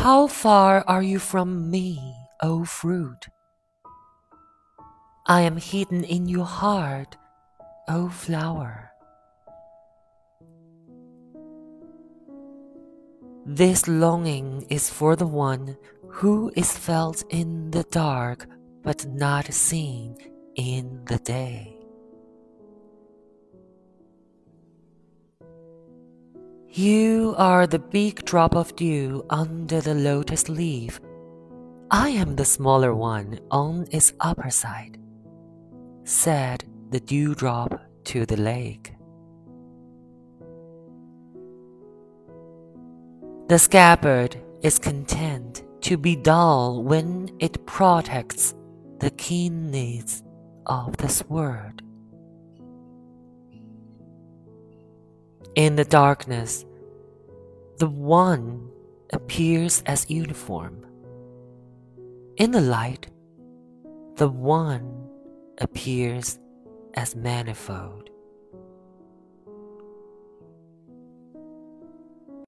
How far are you from me, O fruit? I am hidden in your heart, O flower. This longing is for the one who is felt in the dark but not seen in the day. You are the big drop of dew under the lotus leaf. I am the smaller one on its upper side, said the dewdrop to the lake. The scabbard is content to be dull when it protects the keen needs of the sword. In the darkness, the one appears as uniform. In the light, the one appears as manifold.